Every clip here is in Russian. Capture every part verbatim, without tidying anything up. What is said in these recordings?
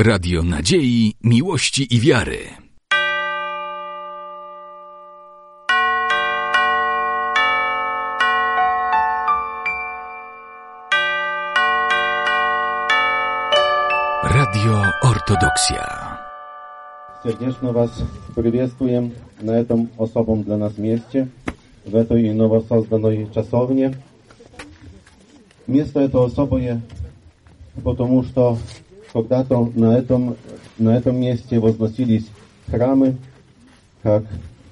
Radio Nadziei, Miłości i Wiary. Radio Ortodoksja. Сердечно вас приветствуем на этом особом для нас месте, в этой новосозданной часовне. Место это особое, потому что когда-то на этом, на этом месте возносились храмы, как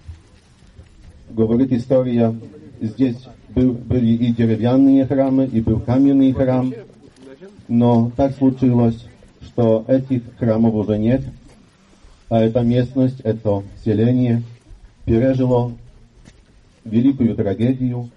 говорит история, здесь был, были и деревянные храмы, и был каменный храм, но так случилось, что этих храмов уже нет, а эта местность, это селение пережило великую трагедию,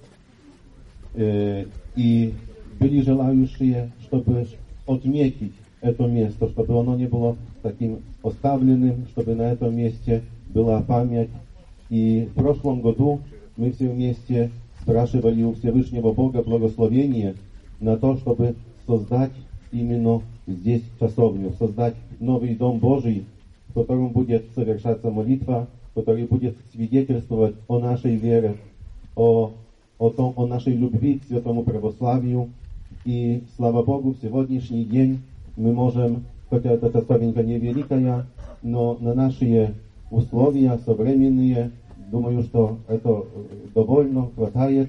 э, и были желающие, чтобы отметить это место, чтобы оно не было таким оставленным, чтобы на этом месте была память. И в прошлом году мы все вместе спрашивали у Всевышнего Бога благословения на то, чтобы создать именно здесь часовню, создать новый Дом Божий, в котором будет совершаться молитва, который будет свидетельствовать о нашей вере, о, о, том, о нашей любви к святому православию. И, слава Богу, в сегодняшний день мы можем, хотя эта часовенька не великая, но на наши условия современные, думаю, что это довольно хватает.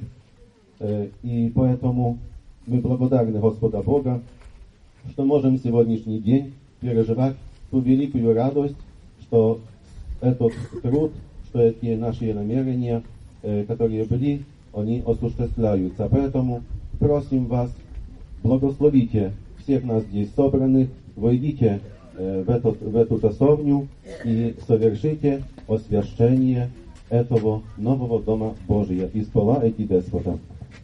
И поэтому мы благодарны Господа Бога, что можем в сегодняшний день переживать ту великую радость, что этот труд, что эти наши намерения, которые были, они осуществляются. Поэтому просим вас, благословите всех нас здесь собранных, войдите в эту, в эту часовню и совершите освящение этого нового Дома Божия из пола эти деспота.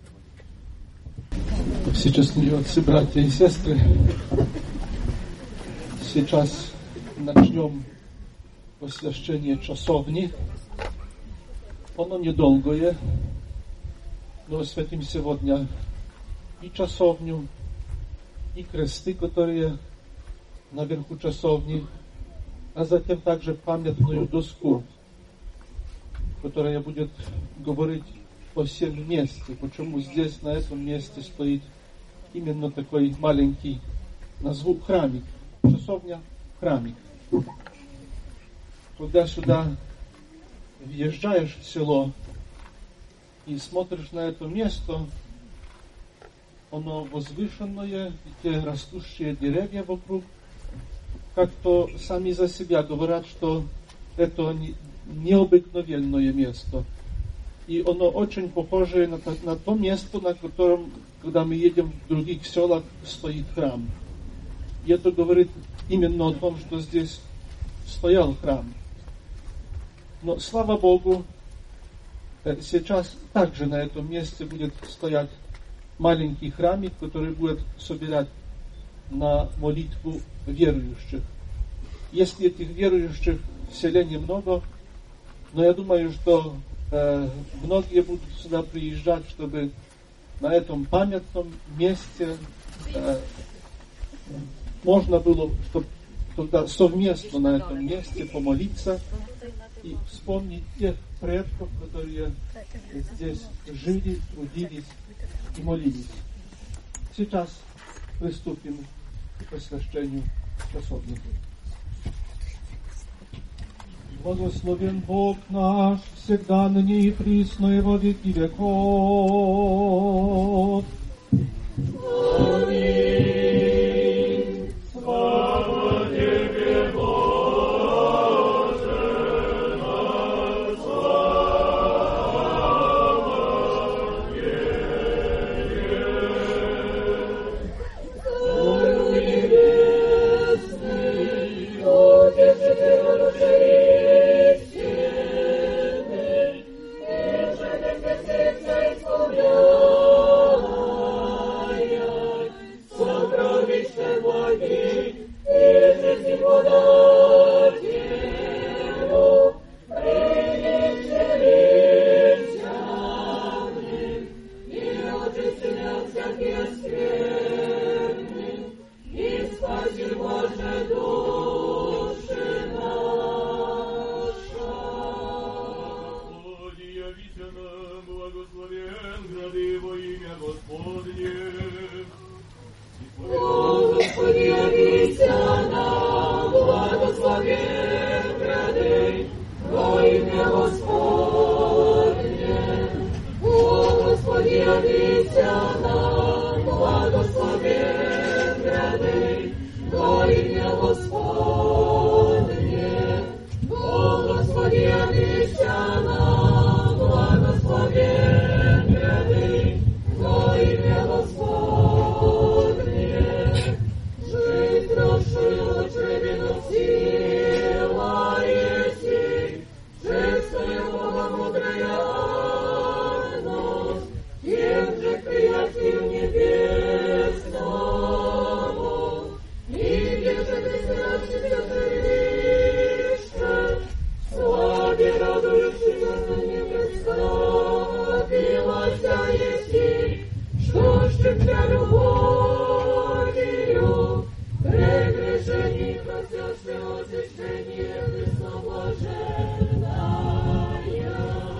Всечестные отцы, братья и сестры, сейчас начнем освящение часовни. Оно недолгое, но освятим сегодня и часовню, и кресты, которые наверху часовни, а затем также памятную доску, которая будет говорить о всем месте, почему здесь, на этом месте стоит именно такой маленький, назову храмик, часовня, храмик. Когда сюда въезжаешь в село и смотришь на это место, оно возвышенное, и те растущие деревья вокруг, как-то сами за себя говорят, что это необыкновенное место. И оно очень похоже на, на то место, на котором, когда мы едем в других селах, стоит храм. И это говорит именно о том, что здесь стоял храм. Но, слава Богу, сейчас также на этом месте будет стоять маленький храмик, который будет собирать на молитву верующих. Если этих верующих в селе немного, но я думаю, что э, многие будут сюда приезжать, чтобы на этом памятном месте э, можно было, чтобы тогда совместно на этом месте помолиться и вспомнить тех предков, которые здесь жили, трудились и молились. Сейчас приступим к освящению часовни. Благословен Бог наш, всегда ныне и присно и во веки веков. Аминь. Слава Тебе, Боже, на слава Тебе. Ой, небесный, Отече Божий, Исполняй. Утешение, простяшее очищение, Христа блаженная.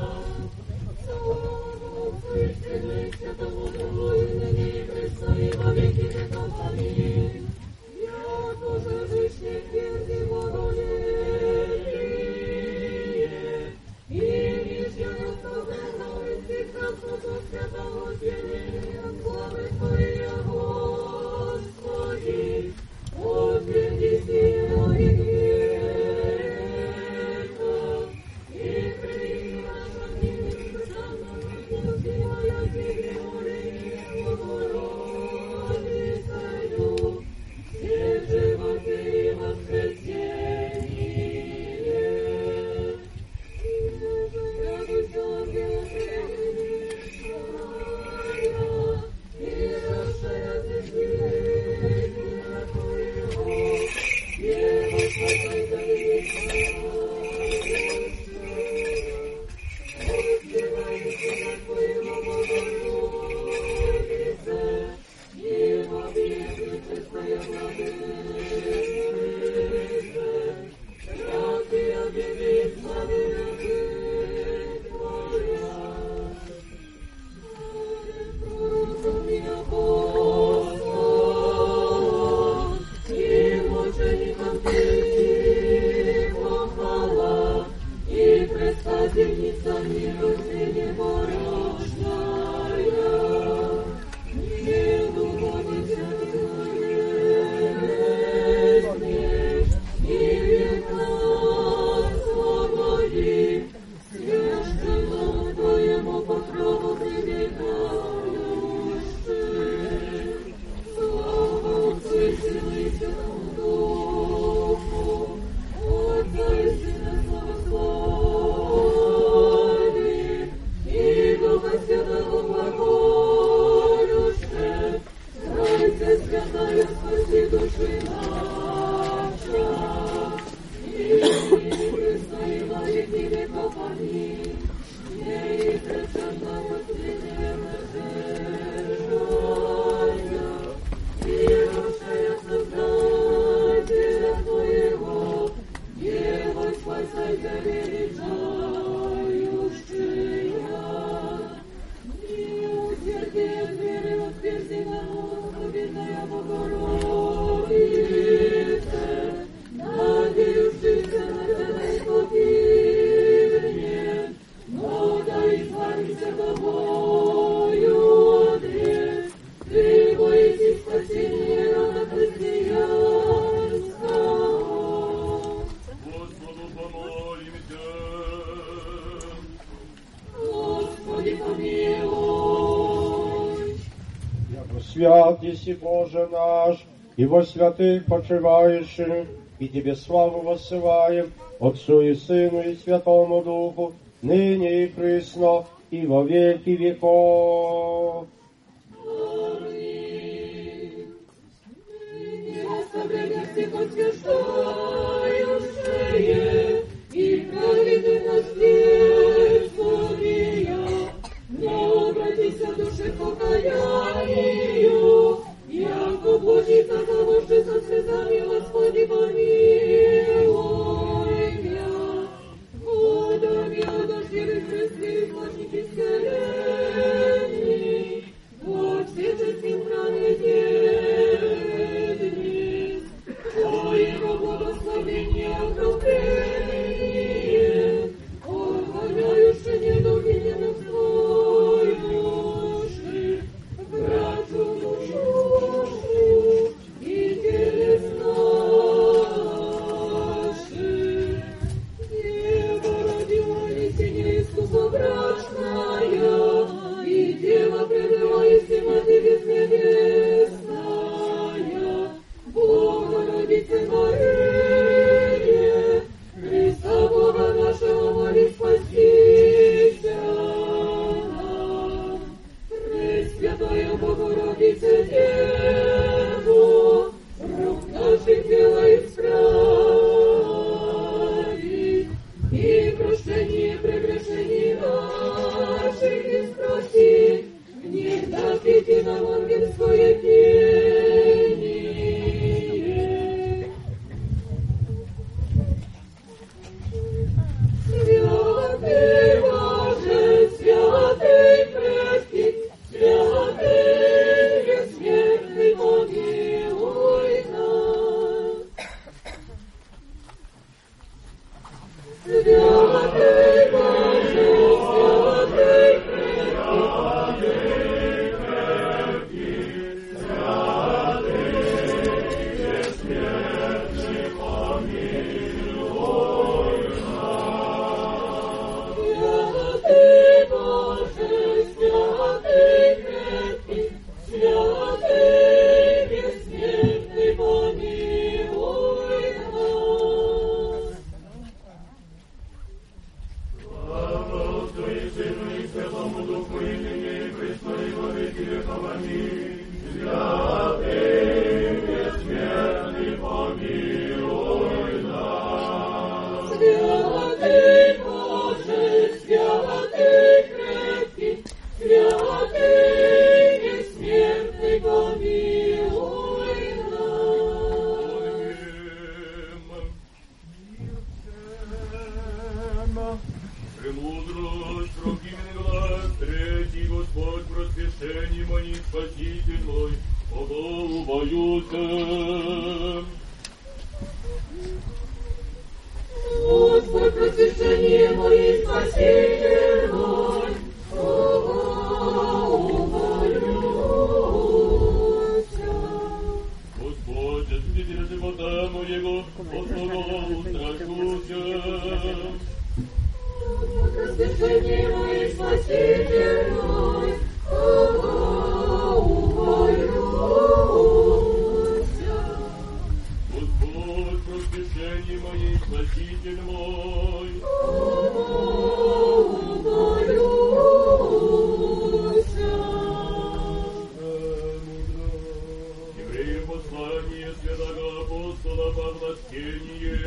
Слава Отцу и Сыну и Святому Духу, и ныне и присно, и во веки веков. Аминь. Яко же вышли тверди благоволение, и нижнего собрано из прекрасного святого зеления, славы Твоя, Господи, отверди силу и греха, и прими наша милость, Сана, Твоя, Тебе, моление, Богородицею, все животы и воскресение. И радуйся, ангелы, и расширяйте свидетельства Твоего, и восхваляйте Возвеличивайте Твоего Богородице, и во веки честная Владыце, ради объявить славы Твоя. Пророком я Господь, и мучеником Ты похвала, и предстательница миру Ты непорочная. Не духовится болезнь, и века свободи, священному Твоему покрову прибегающий. Слава Отцу и Сыну и Святому Духу, Отца и Сына славослови, и Духа Святого глаголюще, Тройце святая, спаси души наша, и Христа и во веки веков. Аминь. Ей изреченно воскресенье блаженная, и расширя Создателя Твоего, Дева спасайся величающая. И усердие веры воскреси народа, бедная Богородице, надеющийся на Тебя и погибнет, но да избавимся тобою отрек, Ты боитесь спасения рода христианского. Господу помолимся. Господи, помилуй. Яко свят еси Боже наш, и во святых почивающих, и Тебе славу воссылаем, Отцу и Сыну и Святому Духу, ныне и присно, и во веки веков. Аминь. Ныне оставляя всех освящающие, и праведностью, но обратися в душе покаянию, яко Божица того, что со слезами, Господи, помилуй меня. Водами одождевых крестных плачетической лени, во все честным храме дни, Твоего благословения окропения, помилуй нас. Святый Боже, святый крепкий, святый бессмертный, помилуй нас. Премудрость, срокименный глаз, третий Господь, просвещение моих, Спаситель мой, Богу боюся. Господь, просвещение мое, Спаситель мой, Богу боюся. Господь, Спаситель живота моего, Господу устрашуся. Просвещение мое, Спаситель мой, Богу боюся. Господь, просвещение мое, Спаситель мой. Богу боюся. Евреям послание святого апостола Павла чтение.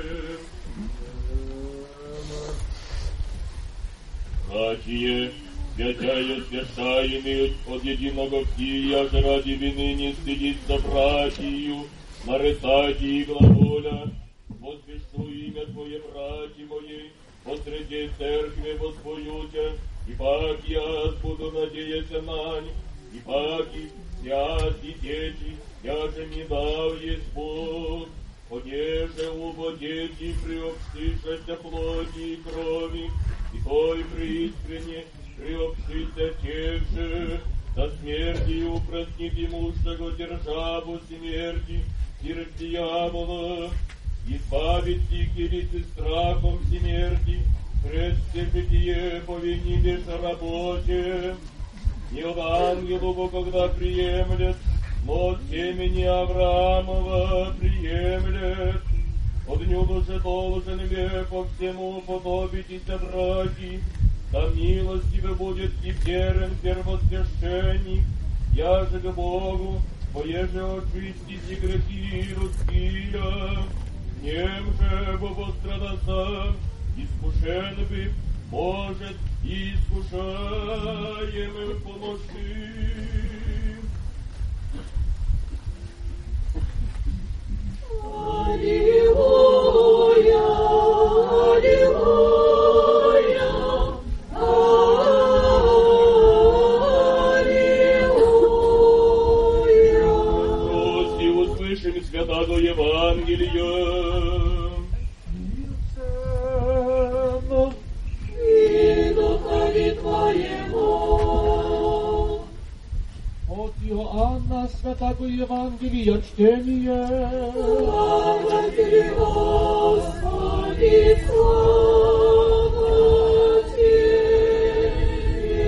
Братья, святая свята имеют от единого ктия, же ради вины не стыдиться братью, нарицать и глаголя. Возвещу имя Твое, братья мои, посреди церкви воспоюся, и пак я буду надеяться на них, и паки, сят и дети, я же не дал есть Бог, понеже убо дети приобщишься плоти и крови, и той преискренне приобщится тех же, до смерти упростит имущего державу смерти, и дьявола, избавить их и страхом смерти, предстепетие повинились работе. Не от ангелу, когда приемлет, но от семени Авраамова приемлет. От нюду же должен век по всему подобитесь браки, да милостивый будет и верен первосвященник, я же к Богу, поеже очистите грехи людские, нем же пострадаса, искушен бы, может, искушаемым помощи. Аллилуйя, аллилуйя, аллилуйя. Прости, услышим святого Евангелия. И духові Твоєму. От Иоанна Святого Евангелия чтение. Слава Тебе, Господи, слава Тебе.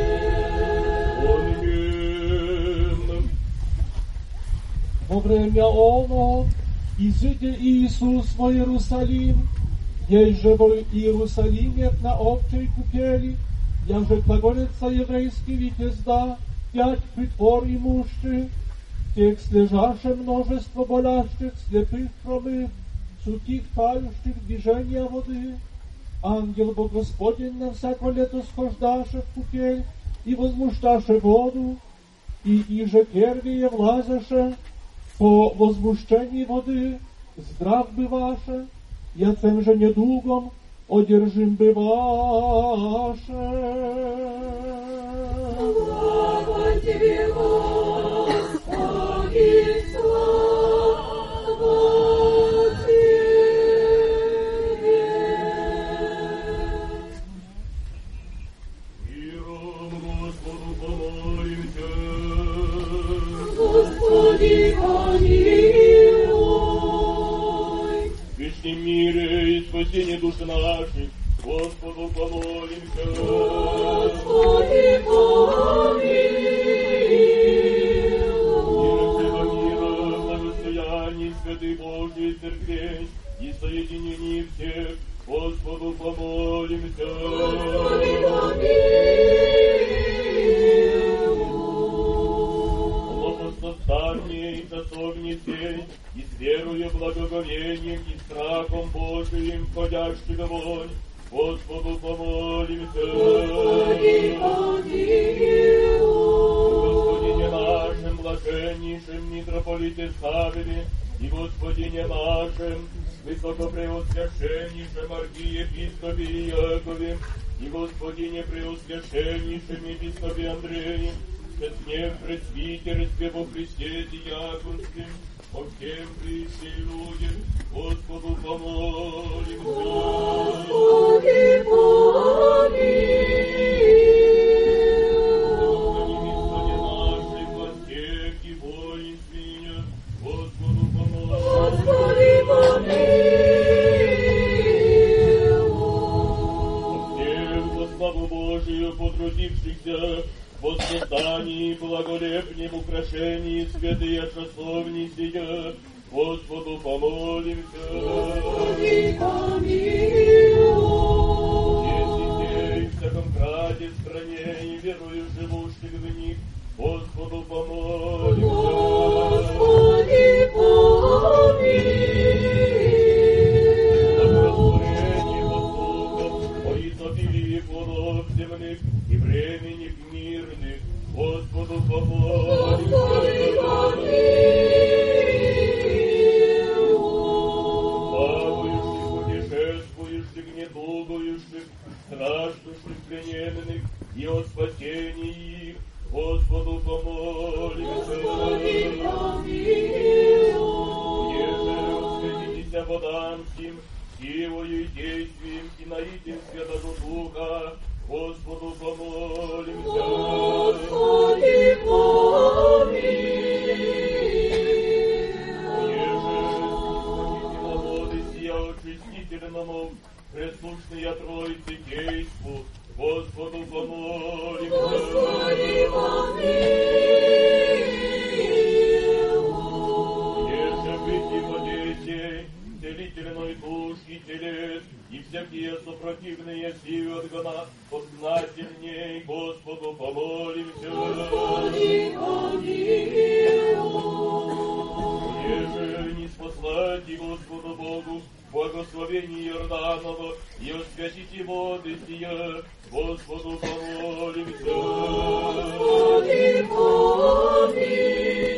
Аминь. Во время оно изыдя Иисус в Иерусалим, ей же в Иерусалиме на общей купели, я же глаголится еврейский витезда, пять притвор имущих, тех слежаше множество болящих, слепых, хромых, сухих, тающих движения воды. Ангел Бог Господень на всяко лето схождаше в купель и возмущаше воду, и иже первые влазаше по возмущении воды, здрав бываше, я тем же недугом одержим бываше. Слава Тебе, Господи, слава Тебе. Миром Господу помолимся. Господи, помилуй. В вечном мире и спасении душ наших, Господу помолимся. Господи, помилуй. Святый Божий Церквей и соединение всех, Господу помолимся. Господи, помилуй. останней часовни сей, и с верою, благоговением и страхом Божиим входящих вонь, Господу помолимся. Господи, помилуй. Господине нашим, блаженнейшим митрополите Савве, и Господине нашим, высокопреосвященнейшем архиепископе Иакове, и Господине преосвященнейшем епископе Андреем, честнем пресвитерстве во Христе диаконским, по всем присей людям, Господу помолимся. Господи, помилуй. Господи наших властях и воинстве, Господу помолимся. Господи, помилуй. Во славу Божию потрудившихся в воссоздании благолепнем украшении святые часовни сия, Господу помолимся. Господи, помилуй. Есть детей в всяком краде, стране и верою живущих в них, Господу помолимся. Господи, помилуй. О изобилии плодов земных и времени мирных, Господу помолимся. Господи, помилуй. Плавающих, путешествующих, недугующих, страждущих, плененных и о спасении их, Господу помолимся. Господи, помилуй. Еже усветитеся водам сим, силою и действием и наитием Святого Духа, Господу помолимся. Господи, помилуй. Еже на воды сия очистительному, преслушные Троице действу, Господу помолимся. Господи, помилуй. Еже быть и воде сей, целительной душ и телес, и всякие супротивные силы отгона, познательней Господу помолимся. Господи, помилуй. Еже не спаслати Господу Богу благословение Иорданова и освятите воды сия, Господу помолимся. Господи, помилуй.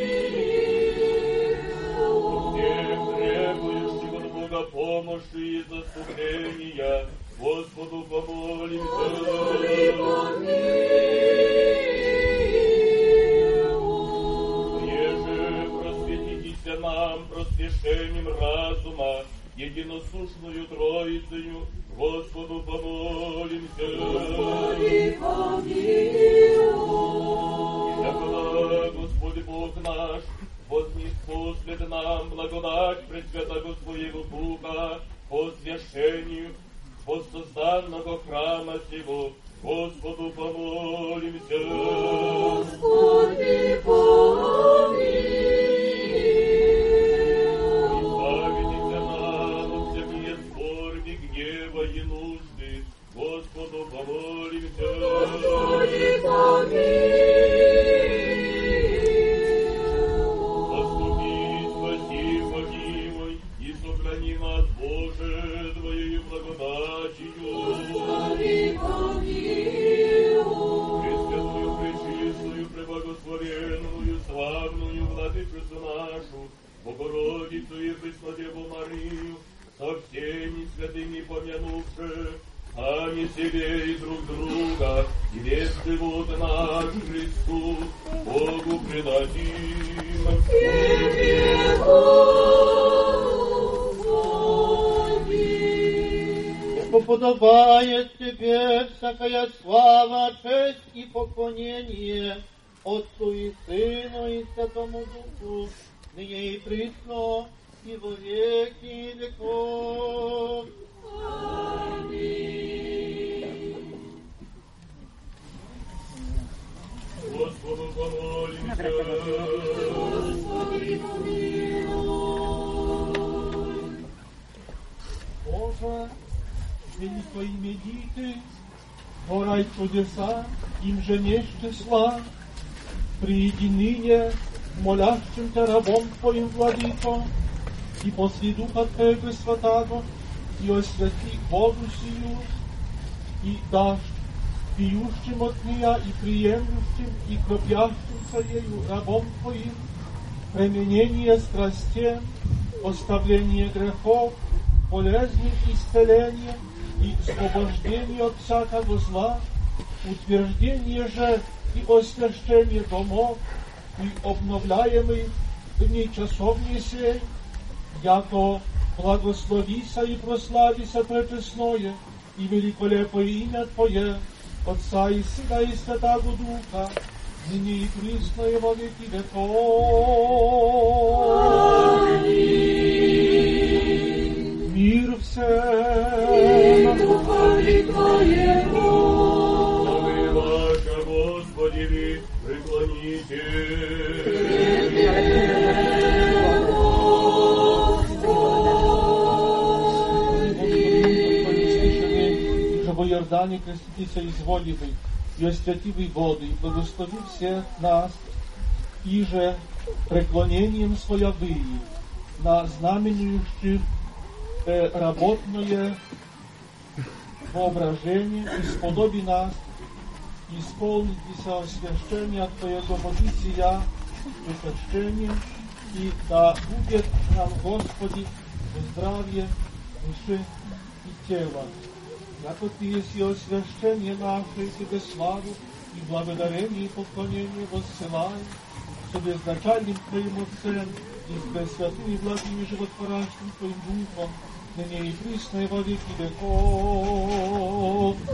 Всем требующих от Бога помощи и заступления, Господу помолимся. Господи, помилуй. Еже просветитеся нам просвещением разума, единосушную Троицею, Господу помолимся. Господи, помилуй. Якова Господь Бог наш, вознеспослед нам благодать Пресвятого Своего Духа по священию воссозданного храма сего, Господу помолимся. Господи, помилуй. Избавитеся нам от всякие скорби, гнева и нужды, Господу помолимся. Господи, помилуй. Заступи, спаси, помилуй и сохрани нас, Боже, Твоею благодатью. Господи, помилуй. Пресвятую, пречистую, преблагословенную, славную Владычицу нашу, Богородицу и Преснодеву Марию, со всеми святыми помянувши, сами себе и друг друга, и весь живот наш Христу, Богу предадим. Тебе, Ибо подобает Тебе всякая слава, честь и поклонение Отцу и Сыну и Святому Духу, ныне и присно, и во веки веков. Господу помолимся. Господи, помилуй. Боже, zmieni Twoimi dity, tworaj чудеса, им же не числа, приди ныне молящим Тебя рабом Твоим, Владыко, и после Духа Твоего Святаго, и освяти воду сию, и дашь пьющим от нее, и приемлющим, и кропящимся ею рабом Твоим, применение страстей, оставление грехов, болезни, исцеление и освобождение от всякого зла, утверждение же и освящение домов, и обновляемый дни часовни сей, яко благословися и прославися пречестное и великолепое имя Твое, Отца и Сына и Святаго Духа, ныне и присно и во веки веков. Мир всем. Духові Твоєму. Слави ваша, Господи, преклоните. Во Иордане креститься изволивый, и освятивый воды, и благослови всех нас, и же преклонением своявые на знаменующих э, работное воображение, и сподоби нас исполнитеся освящения Твоего водителя, причащения, и да будет нам, Господи, здравие души и тела. Яко Ты есть и освящение наше, и Тебе славу, и благодарение, и поклонение воссылаем, с безначальным Твоим Отцем, и с Пресвятым и благим и животворящим Твоим Духом, ныне и присно и во веки веков.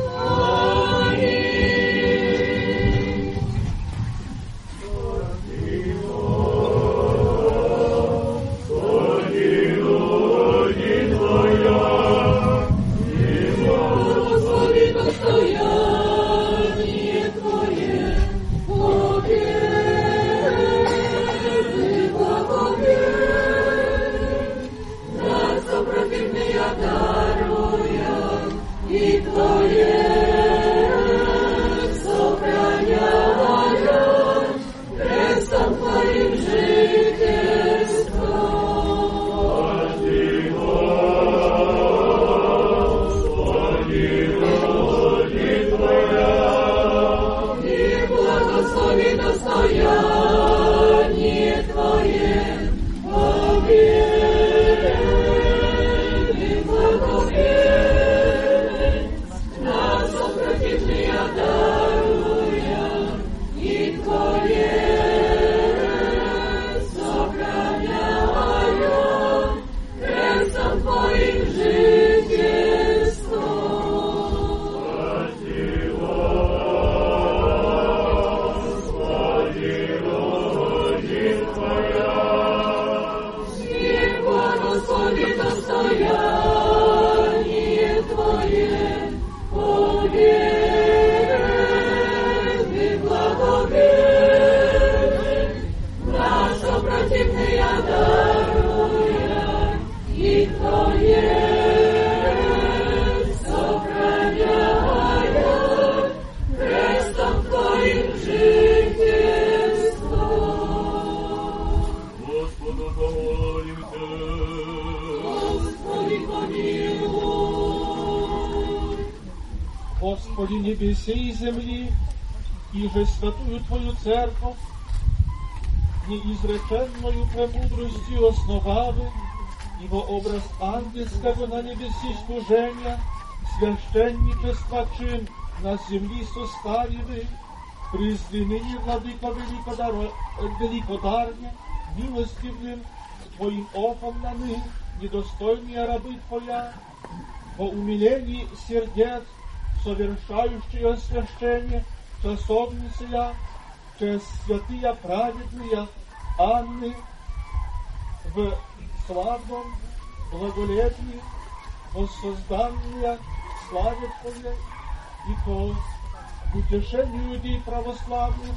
Господи, небесе и земли, и же святую Твою церковь, неизреченную премудростью основавы, и во образ ангельского на небеси служения, священничества чин на земли составивы, призви ныне, Владыко великодаро... великодарне, милостивым Твоим оком на ны, недостойные рабы Твоя, во умилении сердец, совершающие освящение часовницы я, через святые праведные Анны, в славном благолепии воссозданные славе Твоей, и по утешению людей православных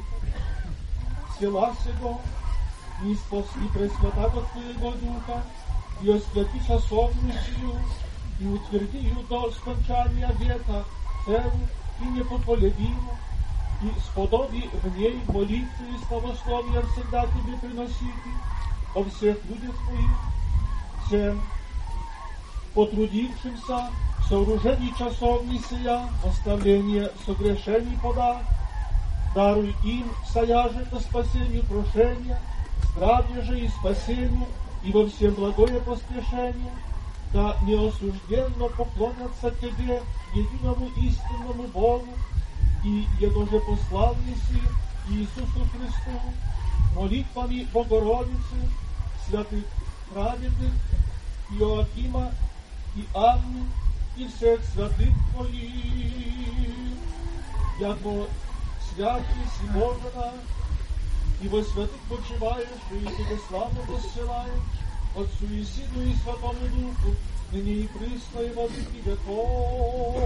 села сего, не спасли Пресвятаго Твоего Духа, и освяти часовницу, и утверди ее до скончания века целу и непоколебиму, и сподоби в ней молитвы и славословия всегда Тебе приносить о всех людях Твоих, всем потрудившимся в сооружении часовни сия, оставление согрешений подать, даруй им саяже по спасению прошения, здравие же и спасению, и во всем благое поспешение, да неосужденно поклонятся Тебе, единому истинному Богу, и Его же посланнице Иисусу Христу, молитвами Богородицы, святых праведных, Иоакима и Анны, и всех святых Твоих, яко святый си Боже наш, и во святых почиваешь, и Тебе славу посылаем, Отцу и Сыну и Святому Духу, ныне и присно и во веки веков.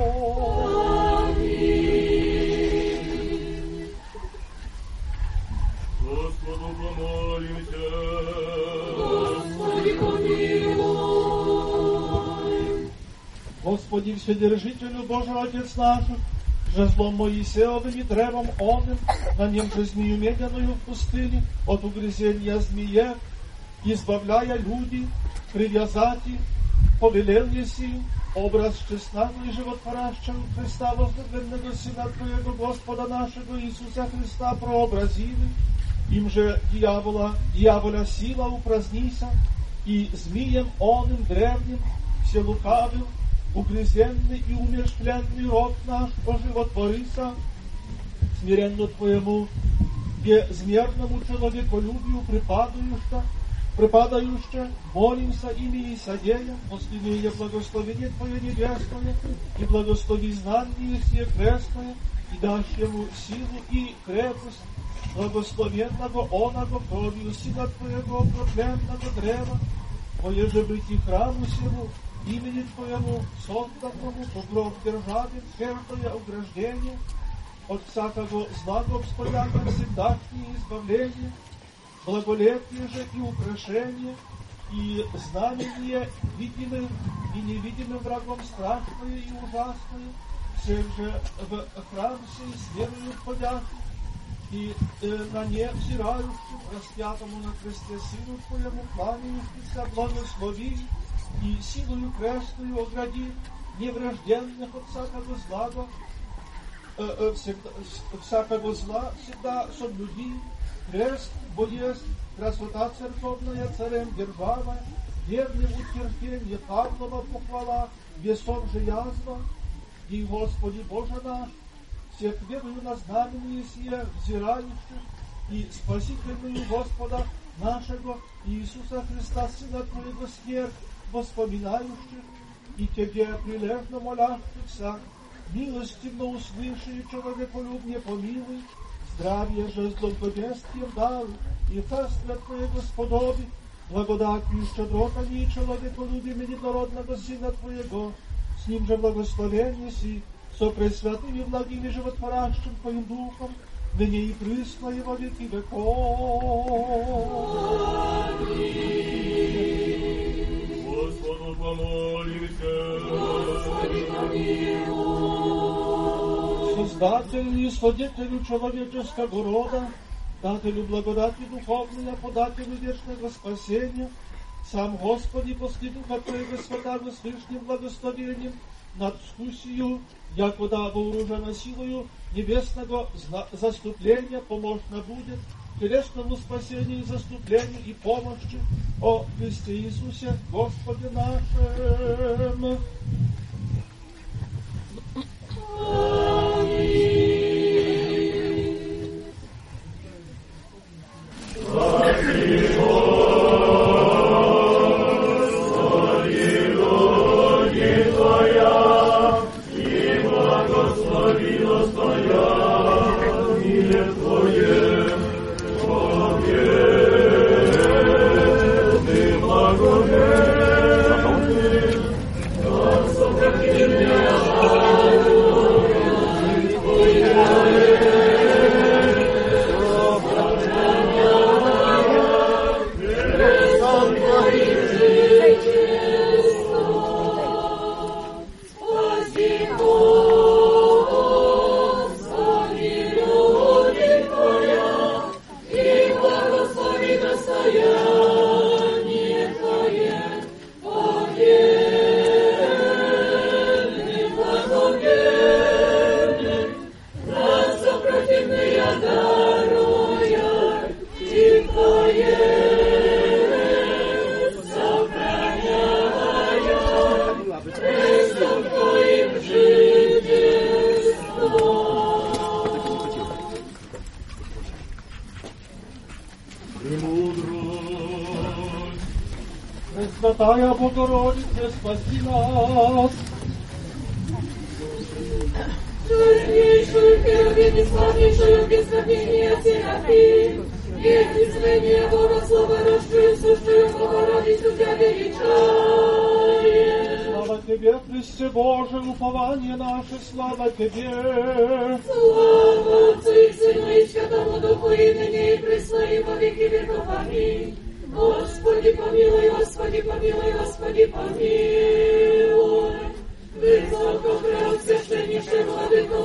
Аминь. Господу помолимся. Господи, помилуй. Господи, Вседержителю Божий Отец наш, жезлом Моисеевым и древом оным, на нем же змею медяную в пустыне, от угрызения змея, избавляя люди, привязать их, повелел еси, образ честного и животворящего Христа, возлюбленного Сына Твоего, Господа нашего Иисуса Христа, прообразили, им же дьявола, дьявола сила упразднися, и змеем оным древним, вселукавым, угрызенный и умерщвленный род наш оживотворися, смиренно Твоему безмерному человеколюбию припадающего, припадающее, молимся ими и содея, последнее благословение Твое небесное, и благослови знание сие крестное, и дашь ему силу и крепость, благословенного оного кровью Сына Твоего, окропленного древа, поеже быть и храму сему, имени Твоему, созданному по гроб державе, твердое ограждение, от всякого злого обстояния всегдашнее избавление, благолепие же и украшение, и знамение видимым и невидимым врагом страшное и ужасное, всех же в храм сей с верою входящих, и э, на не взирающим, распятому на кресте Сыну Твоему, кланяющихся, благослови, и силою крестную огради неврожденных от всякого зла, э, э, всегда, всякого зла всегда соблюди, крест, бо есть красота церковная, царем держава, верным утерпенье Павлова похвала, весов же язва, и Господи Боже наш, всех верую на знамение сие, взирающих, и спасительную Господа нашего Иисуса Христа, Сына Твоего, смерть воспоминающих, и Тебе прилежно молящихся, милостивно услыши и человеколюбне помилуй, здравие же с долгоденствием даруй, и царствие Твоего сподоби, благодатью и щедротами и человеколюбием единородного Сына Твоего, с Ним же благословение си, со пресвятым и благим и животворящим Твоим Духом, ныне и присно и во веки веков. Аминь. Господу помолимся. Господи, помилуй. Создателю и свидетелю человеческого рода, дателю благодати духовной, подателю вечного спасения, сам Господи, после Духа Твоего святого с лишним благословением, над вкусию, якода вооружена силою небесного заступления, помощно будет телесному спасению, заступлению и помощи о Христе Иисусе, Господе нашем. Господи, Пресвятая Богородица, спаси нас. Честнейшую Херувим и славнейшую без сравнения Серафим, и изменение Богослова, рождую, сущую Богородицу Тебя величаем. Слава Тебе, Христе Боже, упование наше, слава Тебе. Слава Отцу и Сыну и Святому Духу, и ныне и присно, и во веки веков. Аминь. Господи помилуй, Господи помилуй, Господи помилуй. Высоко преосвященнейший Владыко,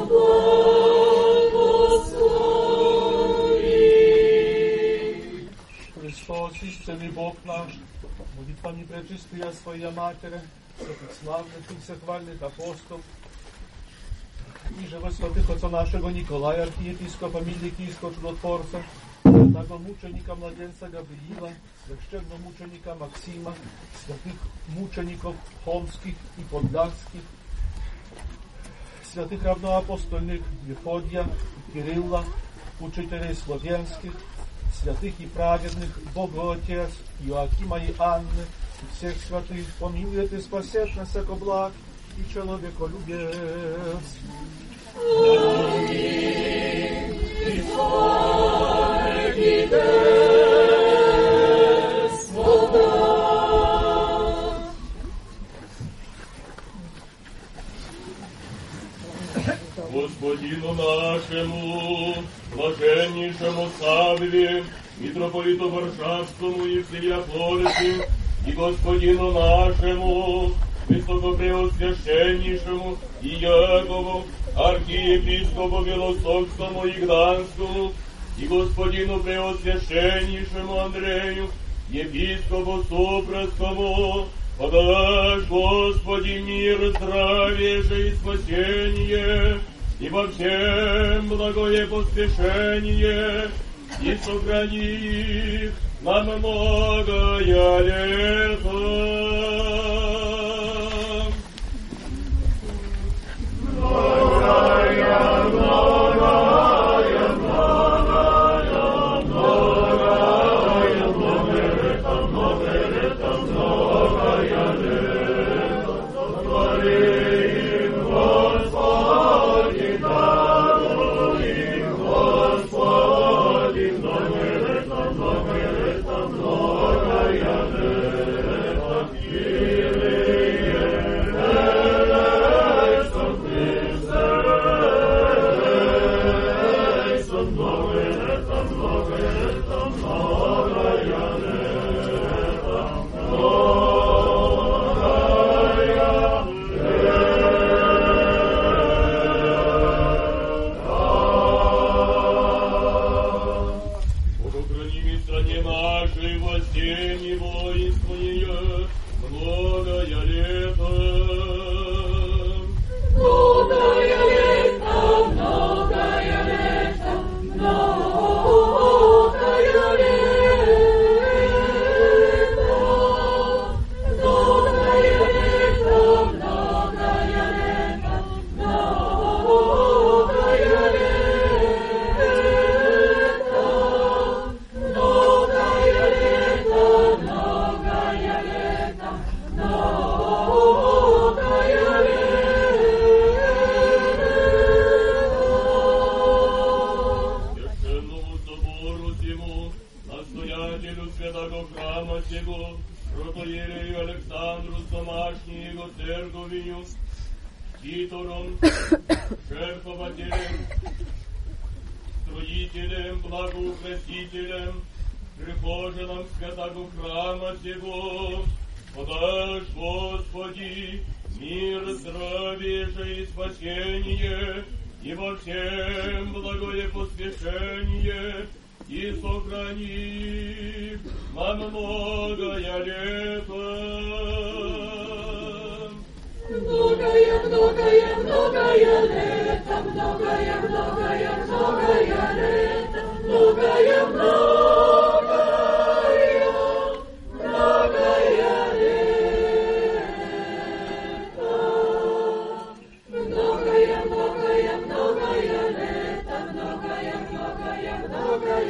благослови. Христос, истинный Бог наш, молитвами пречистая Своя Матери, святых славных и всехвальных апостолов, и же во святых отца нашего Николая, архиепископа Миликийского чудотворца, святого мученика младенца Гавриила, священного мученика Максима, святых мучеников Хомских и Подляских, святых равноапостольных Мефодия, Кирилла, учителей славянских, святых и праведных Богоотец Иоакима и Анны, и всех святых помилует и спасет нас, яко благ и человеколюбец. Аминь. И слава Тебе, Господа. Господину нашему, блаженнейшему Савве, митрополиту Варшавскому и всея Флорисе, и Господину нашему, высокопреосвященнейшему Иакову, архиепископу Белостокскому и Гданскому, и Господину преосвященнейшему Андрею, епископу Супрасскому, подашь, Господи, мир, здравие же и спасение, и во всем благое поспешение, и сохрани их на многое лето. Многое, многое, многое, многое, многое лето, многое лето, многое лето. Сотвори им, Господи, даруй им, Господи, многое лето, многое лето, многое лето.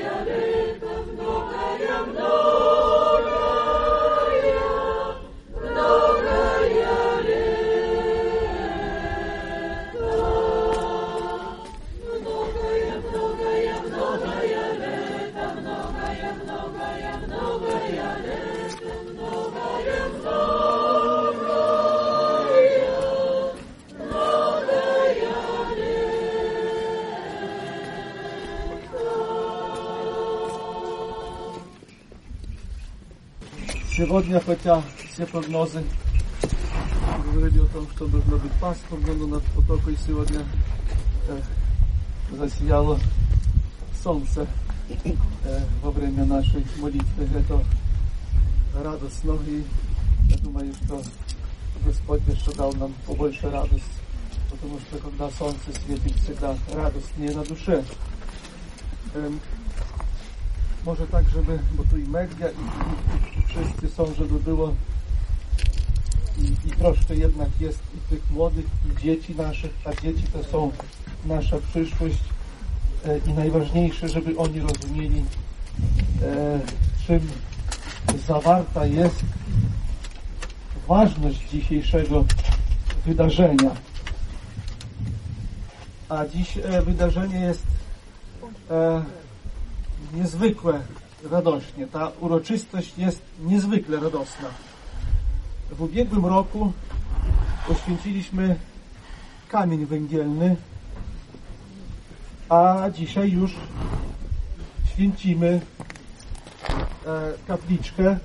Многое, многое, многое, Сегодня, хотя все прогнозы говорили о том, что должно быть пасмурно, но над потокой сегодня э, засияло солнце э, во время нашей молитвы. Это радостно, и я думаю, что Господь еще дал нам побольше радости, потому что когда солнце светит, всегда радостнее на душе. Эм, może tak, żeby, bo tu i media, i, i, i wszyscy są, żeby było i, i troszkę jednak jest i tych młodych, i dzieci naszych, a dzieci to są nasza przyszłość e, i najważniejsze, żeby oni rozumieli, e, czym zawarta jest ważność dzisiejszego wydarzenia. A dziś e, wydarzenie jest e, niezwykle radośnie. Ta uroczystość jest niezwykle radosna. W ubiegłym roku poświęciliśmy kamień węgielny, a dzisiaj już święcimy e, kapliczkę,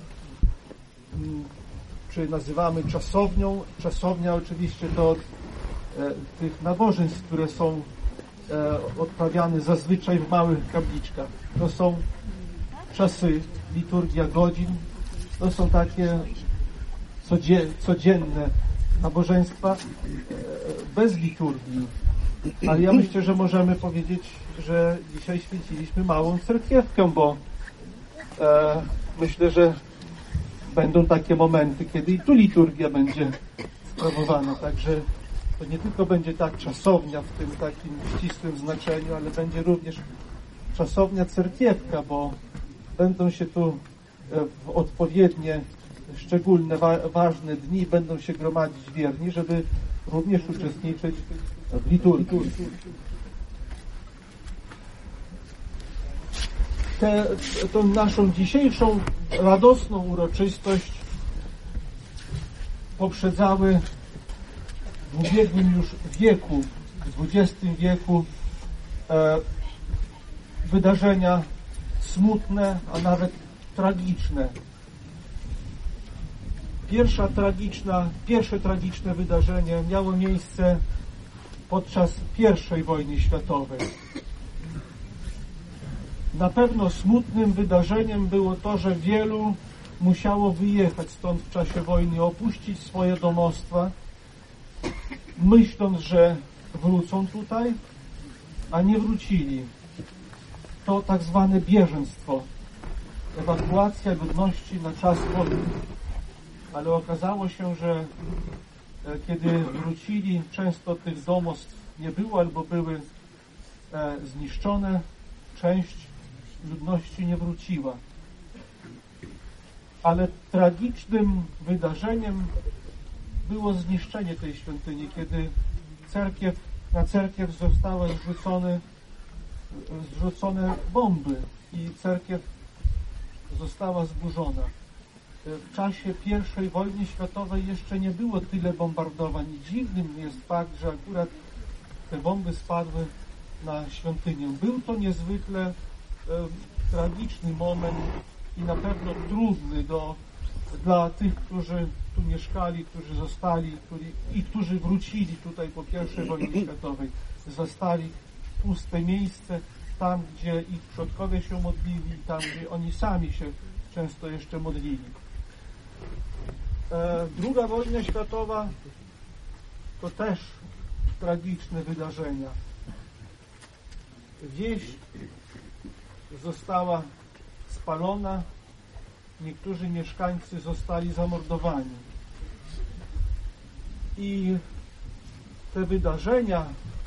czy nazywamy czasownią. Czasownia oczywiście to od e, tych nabożeństw, które są e, odprawiane zazwyczaj w małych kapliczkach. To są czasy, liturgia godzin, to są takie codzienne nabożeństwa bez liturgii. Ale ja myślę, że możemy powiedzieć, że dzisiaj święciliśmy małą cerkiewkę, bo e, myślę, że będą takie momenty, kiedy i tu liturgia będzie sprawowana. Także to nie tylko będzie tak czasownia w tym takim ścisłym znaczeniu, ale będzie również czasownia cerkiewka, bo będą się tu w odpowiednie, szczególne, wa- ważne dni będą się gromadzić wierni, żeby również uczestniczyć w liturgii. Tę, tą naszą dzisiejszą radosną uroczystość poprzedzały w ubiegłym już wieku, w dwudziestym wieku, e, wydarzenia smutne, a nawet tragiczne. Pierwsza tragiczna, pierwsze tragiczne wydarzenie miało miejsce podczas pierwszej wojny światowej. Na pewno smutnym wydarzeniem było to, że wielu musiało wyjechać stąd w czasie wojny, opuścić swoje domostwa, myśląc, że wrócą tutaj, a nie wrócili. To tak zwane bieżeństwo, ewakuacja ludności na czas wojny. Ale okazało się, że kiedy wrócili, często tych domostw nie było albo były zniszczone, część ludności nie wróciła. Ale tragicznym wydarzeniem było zniszczenie tej świątyni, kiedy cerkiew, na cerkiew zostały zrzucone, zrzucone bomby i cerkiew została zburzona. W czasie pierwszej wojny światowej jeszcze nie było tyle bombardowań i dziwnym jest fakt, że akurat te bomby spadły na świątynię. Był to niezwykle e, tragiczny moment i na pewno trudny do, dla tych, którzy tu mieszkali, którzy zostali którzy, i którzy wrócili tutaj po pierwszej wojnie światowej. Zastali puste miejsce, tam gdzie ich przodkowie się modlili, tam gdzie oni sami się często jeszcze modlili. E, druga wojna światowa to też tragiczne wydarzenia. Wieś została spalona, niektórzy mieszkańcy zostali zamordowani. I te wydarzenia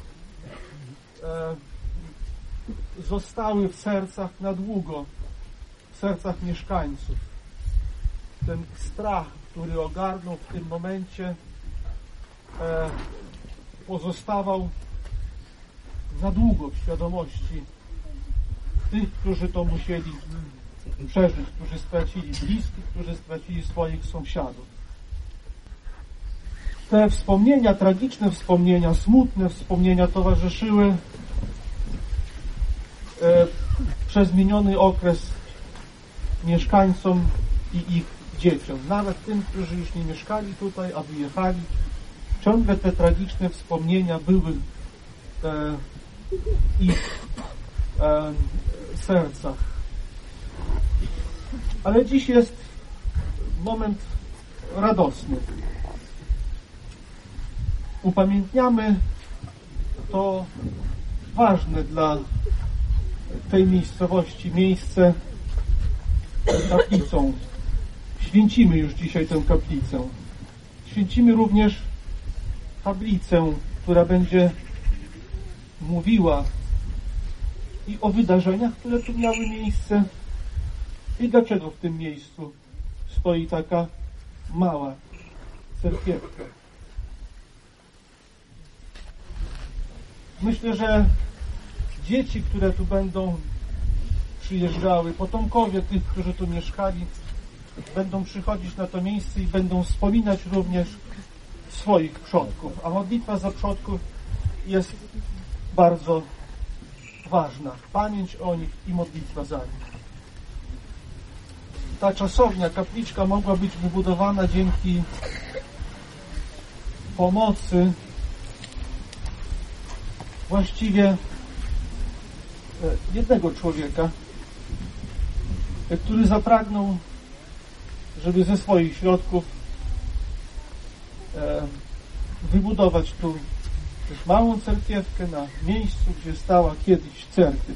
e, zostały w sercach na długo, w sercach mieszkańców. Ten strach, który ogarnął w tym momencie, e, pozostawał na długo w świadomości tych, którzy to musieli przeżyć, którzy stracili bliskich, którzy stracili swoich sąsiadów. Te wspomnienia, tragiczne wspomnienia, smutne wspomnienia towarzyszyły e, przez miniony okres mieszkańcom i ich dzieciom, nawet tym, którzy już nie mieszkali tutaj, a wyjechali. Ciągle te tragiczne wspomnienia były e, w ich e, sercach. Ale dziś jest moment radosny. Upamiętniamy to ważne dla tej miejscowości miejsce kaplicą. Święcimy już dzisiaj tę kaplicę. Święcimy również tablicę, która będzie mówiła i o wydarzeniach, które tu miały miejsce, i dlaczego w tym miejscu stoi taka mała cerkiewka. Myślę, że dzieci, które tu będą przyjeżdżały, potomkowie tych, którzy tu mieszkali, będą przychodzić na to miejsce i będą wspominać również swoich przodków. A modlitwa za przodków jest bardzo ważna. Pamięć o nich i modlitwa za nich. Ta czasownia, kapliczka mogła być wybudowana dzięki pomocy właściwie jednego człowieka, który zapragnął, żeby ze swoich środków wybudować tu też małą cerkiewkę na miejscu, gdzie stała kiedyś cerkiew.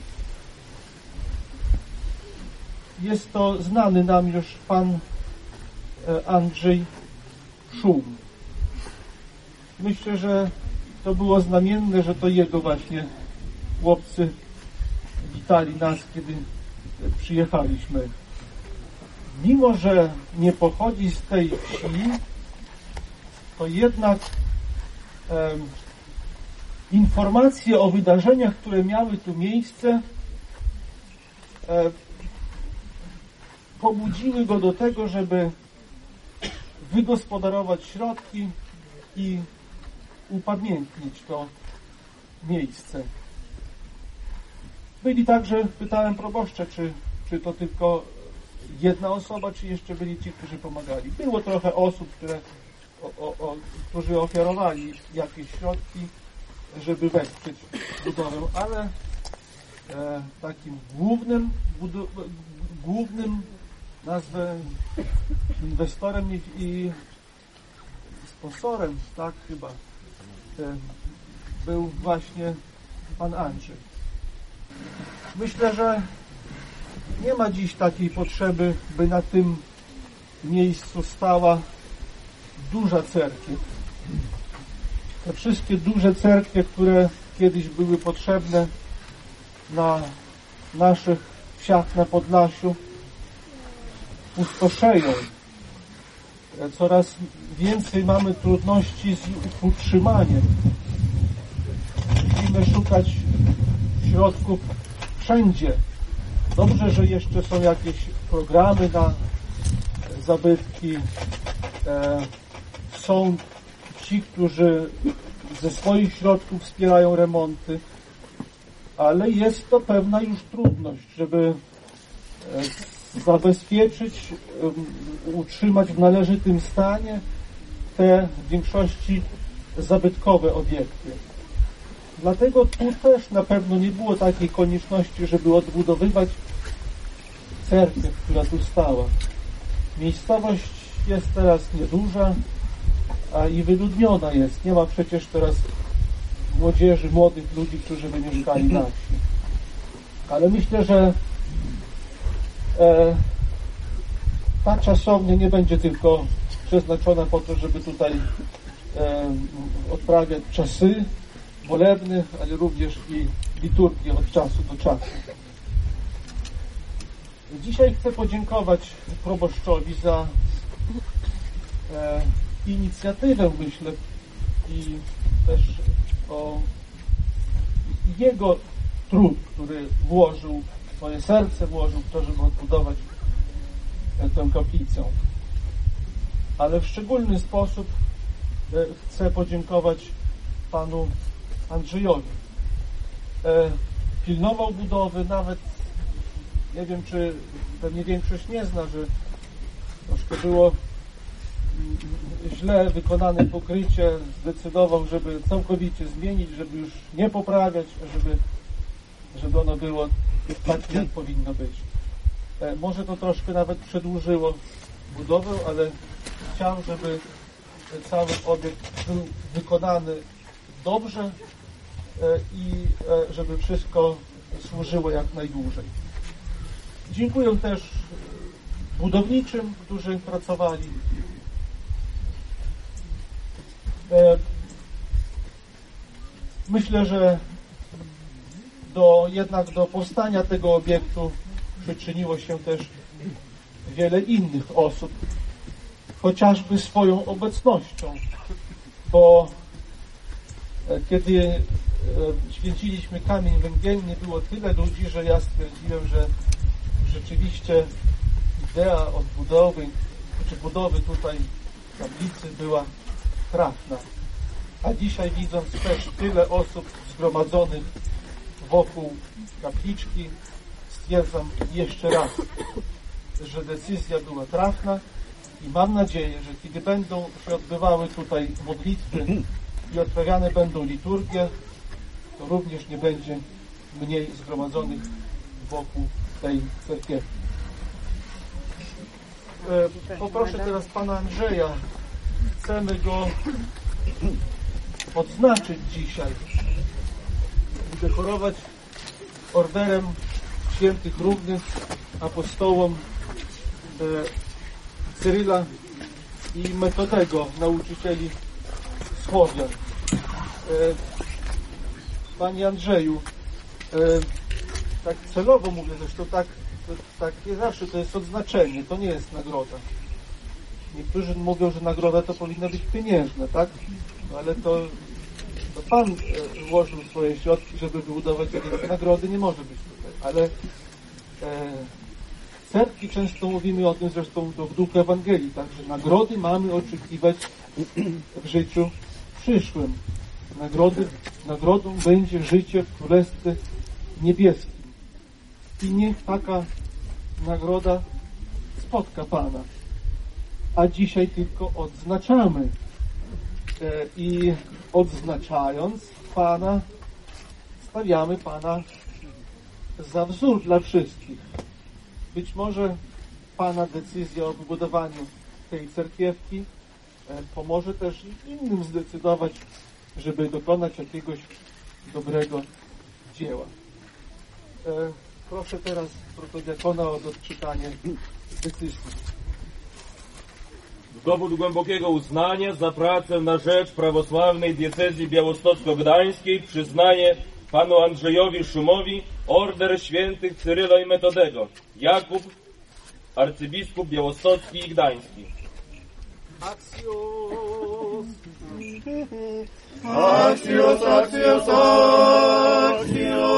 Jest to znany nam już pan Andrzej Szum. Myślę, że to było znamienne, że to jego właśnie chłopcy witali nas, kiedy przyjechaliśmy. Mimo że nie pochodzi z tej wsi, to jednak e, informacje o wydarzeniach, które miały tu miejsce, e, pobudziły go do tego, żeby wygospodarować środki i upamiętnić to miejsce. Byli także, pytałem proboszcza, czy, czy to tylko jedna osoba, czy jeszcze byli ci, którzy pomagali. Było trochę osób, które, o, o, o, którzy ofiarowali jakieś środki, żeby wesprzeć budowę, ale e, takim głównym, budu, głównym nazwę inwestorem i, i sponsorem, tak chyba, e, był właśnie pan Andrzej. Myślę, że nie ma dziś takiej potrzeby, by na tym miejscu stała duża cerkiew. Te wszystkie duże cerkwie, które kiedyś były potrzebne na naszych wsiach na Podlasiu, pustoszeją. Coraz więcej mamy trudności z ich utrzymaniem. Musimy szukać środków wszędzie. Dobrze, że jeszcze są jakieś programy na zabytki. E, są ci, którzy ze swoich środków wspierają remonty, ale jest to pewna już trudność, żeby e, zabezpieczyć, e, utrzymać w należytym stanie te w większości zabytkowe obiekty. Dlatego tu też na pewno nie było takiej konieczności, żeby odbudowywać cerkiew, która tu stała. Miejscowość jest teraz nieduża, a i wyludniona jest. Nie ma przecież teraz młodzieży, młodych ludzi, którzy by mieszkali na wsi. Ale myślę, że e, ta czasownia nie będzie tylko przeznaczona po to, żeby tutaj e, odprawiać czasy molebnych, ale również i liturgię od czasu do czasu. Dzisiaj chcę podziękować proboszczowi za e, inicjatywę, myślę, i też o jego trud, który włożył, swoje serce włożył w to, żeby odbudować e, tę kaplicę. Ale w szczególny sposób e, chcę podziękować panu Andrzejowi. E, pilnował budowy, nawet nie wiem, czy pewnie większość nie zna, że troszkę było źle wykonane pokrycie, zdecydował, żeby całkowicie zmienić, żeby już nie poprawiać, żeby, żeby ono było tak, jak powinno być. Może to troszkę nawet przedłużyło budowę, ale chciał, żeby cały obiekt był wykonany dobrze i żeby wszystko służyło jak najdłużej. Dziękuję też budowniczym, którzy pracowali. Myślę, że do, jednak do powstania tego obiektu przyczyniło się też wiele innych osób, chociażby swoją obecnością, bo kiedy święciliśmy kamień węgielny, było tyle ludzi, że ja stwierdziłem, że rzeczywiście idea odbudowy, czy budowy tutaj tablicy była trafna. A dzisiaj, widząc też tyle osób zgromadzonych wokół kapliczki, stwierdzam jeszcze raz, że decyzja była trafna i mam nadzieję, że kiedy będą się odbywały tutaj modlitwy i odprawiane będą liturgie, to również nie będzie mniej zgromadzonych wokół tej cerkiewki. Poproszę teraz pana Andrzeja. Chcemy go odznaczyć dzisiaj, udekorować orderem świętych równych apostołom Cyryla i Metodego, nauczycieli Słowian. Panie Andrzeju, tak celowo mówię, zresztą tak, tak nie zawsze to jest odznaczenie, to nie jest nagroda. Niektórzy mówią, że nagroda to powinna być pieniężna, tak? No ale to, to Pan włożył swoje środki, żeby wybudować jakieś nagrody, nie może być tutaj. Ale e, w cerkwi często mówimy o tym, zresztą to w duchu Ewangelii, tak? Że nagrody mamy oczekiwać w życiu przyszłym. Nagrody, nagrodą będzie życie w Królestwie Niebieskim. I niech taka nagroda spotka Pana. A dzisiaj tylko odznaczamy. I odznaczając Pana, stawiamy Pana za wzór dla wszystkich. Być może Pana decyzja o wybudowaniu tej cerkiewki pomoże też innym zdecydować, żeby dokonać jakiegoś dobrego dzieła. Proszę teraz protodiakona o odczytanie decyzji. Dowód głębokiego uznania za pracę na rzecz prawosławnej diecezji białostocko-gdańskiej przyznaje panu Andrzejowi Szumowi order świętych Cyryla i Metodego, Jakub, arcybiskup białostocki i gdański. Axios! Axios, axios, axios!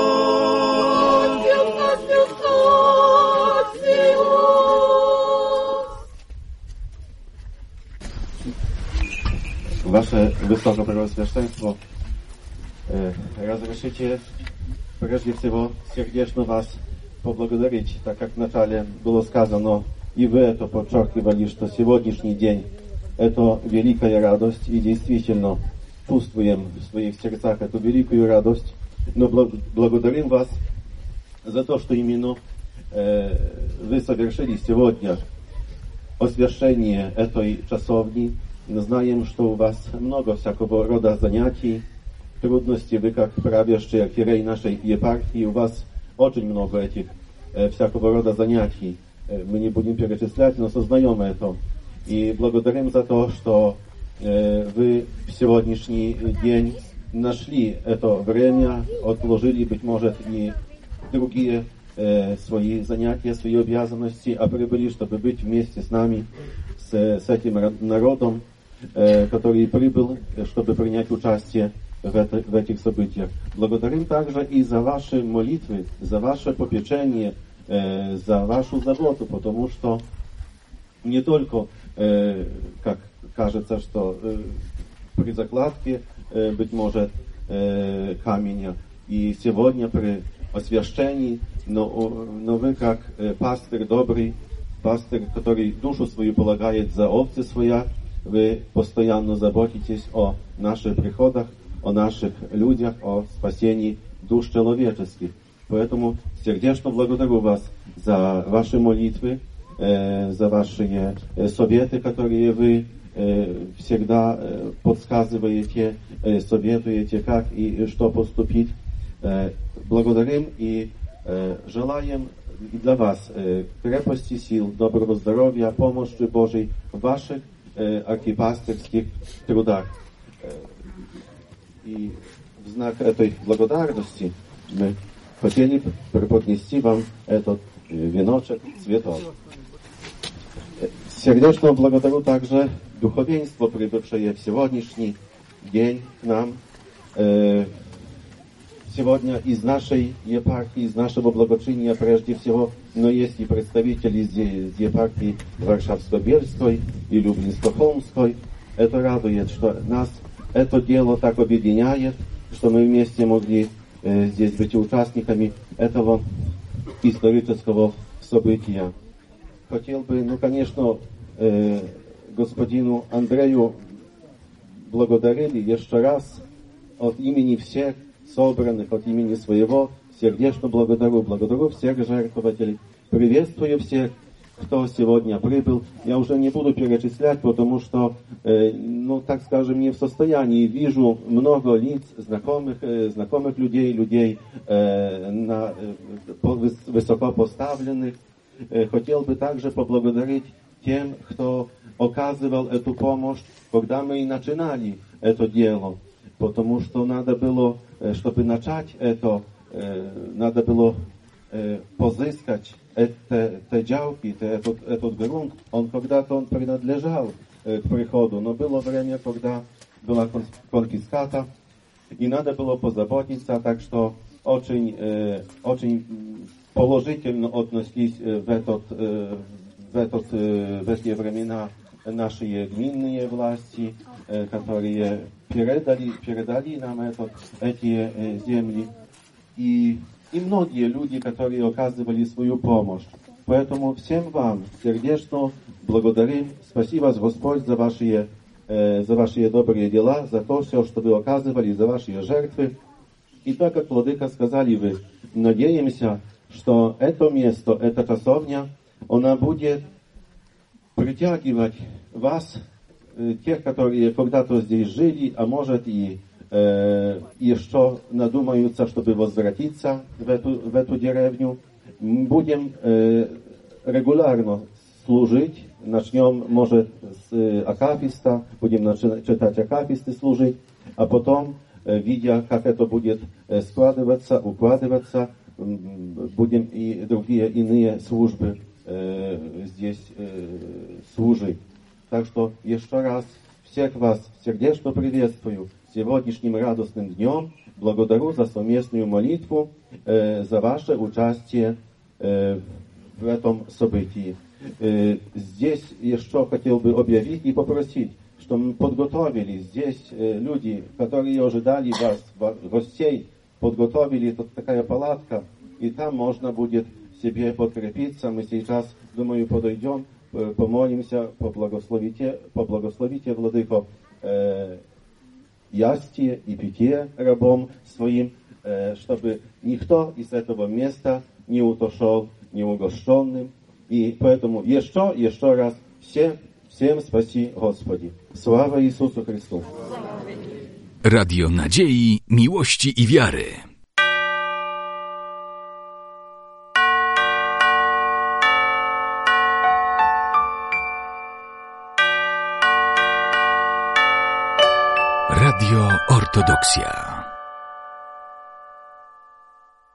Ваше Высокопревосвященство, э, разрешите прежде всего сердечно вас поблагодарить, так как вначале было сказано, и вы это подчеркивали, что сегодняшний день это великая радость, и действительно чувствуем в своих сердцах эту великую радость, но благодарим вас за то, что именно э, вы совершили сегодня освящение этой часовни. Знаем, что у вас много всякого рода занятий, трудностей. Вы, как правящий архиерей нашей епархии, у вас очень много этих э, всякого рода занятий. Э, мы не будем перечислять, но сознаем это. И благодарим за то, что э, вы в сегодняшний день нашли это время, отложили, быть может, и другие э, свои занятия, свои обязанности, а прибыли, чтобы быть вместе с нами, с, с этим народом, который прибыл, чтобы принять участие в, это, в этих событиях. Благодарим также и за ваши молитвы, за ваше попечение, за вашу заботу, потому что не только, как кажется, что при закладке, быть может, камня, и сегодня при освящении, но, но вы, как пастырь добрый, пастырь, который душу свою полагает за овцы своя, вы постоянно заботитесь о наших приходах, о наших людях, о спасении душ человеческих. Поэтому сердечно благодарю вас за ваши молитвы, э, за ваши э, советы, которые вы э, всегда э, подсказываете, э, советуете, как и что поступить. Э, благодарим и э, желаем и для вас э, крепости сил, доброго здоровья, помощи Божьей в ваших э, архипастырских трудах. Э, и в знак этой благодарности мы хотели преподнести вам этот э, веночек цветов. Сердечно благодарю также духовенство, прибывшее в сегодняшний день к нам. Э, Сегодня из нашей епархии, из нашего благочиния прежде всего, но есть и представители из епархии Варшавско-Бельской и Люблинско-Холмской. Это радует, что нас это дело так объединяет, что мы вместе могли э, здесь быть участниками этого исторического события. Хотел бы, ну, конечно, э, господину Андрею благодарили еще раз от имени всех собранных, от имени своего, сердечно благодарю, благодарю всех жертвователей, приветствую всех, кто сегодня прибыл. Я уже не буду перечислять, потому что, э, ну, так скажем, не в состоянии. Вижу много лиц, знакомых, э, знакомых людей, людей э, на, э, высоко поставленных. Э, хотел бы также поблагодарить тем, кто оказывал эту помощь, когда мы и начинали это дело. Потому что надо было, чтобы начать это, надо было позыскать эти, эти działки, этот, этот грунт. Он когда-то он принадлежал к приходу, но было время, когда была конфиската, и надо было позаботиться, так что очень, очень положительно относились в, этот, в, этот, в эти времена наши гминные власти, которые передали, передали нам это, эти э, земли, и, и многие люди, которые оказывали свою помощь. Поэтому всем вам сердечно благодарим. Спасибо вас, Господь, за ваши, э, за ваши добрые дела, за то все, что вы оказывали, за ваши жертвы. И так, как владыка сказали вы, надеемся, что это место, эта часовня, она будет притягивать вас, тех, которые когда-то здесь жили, а может и э, еще надумаются, чтобы возвратиться в эту, в эту деревню. Будем э, регулярно служить. Начнем, может, с э, акафиста, будем начи- читать акафисты, служить, а потом, э, видя, как это будет э, складываться, укладываться, э, будем и другие иные службы э, здесь э, служить. Так что еще раз всех вас сердечно приветствую сегодняшним радостным днем. Благодарю за совместную молитву, э, за ваше участие э, в этом событии. Э, здесь еще хотел бы объявить и попросить, что мы подготовили здесь э, люди, которые ожидали вас, гостей, подготовили тут такая палатка, и там можно будет себе подкрепиться. Мы сейчас, думаю, подойдем, помолимся, поблагословите, поблагословите, владыко, э, ястие и питье рабом своим, э, чтобы никто из этого места не утошел неугощенным. И поэтому еще, еще раз всем, всем спаси, Господи. Слава Иисусу Христу. Radio Nadziei, Miłości i Wiary. Radio Ortodoksja.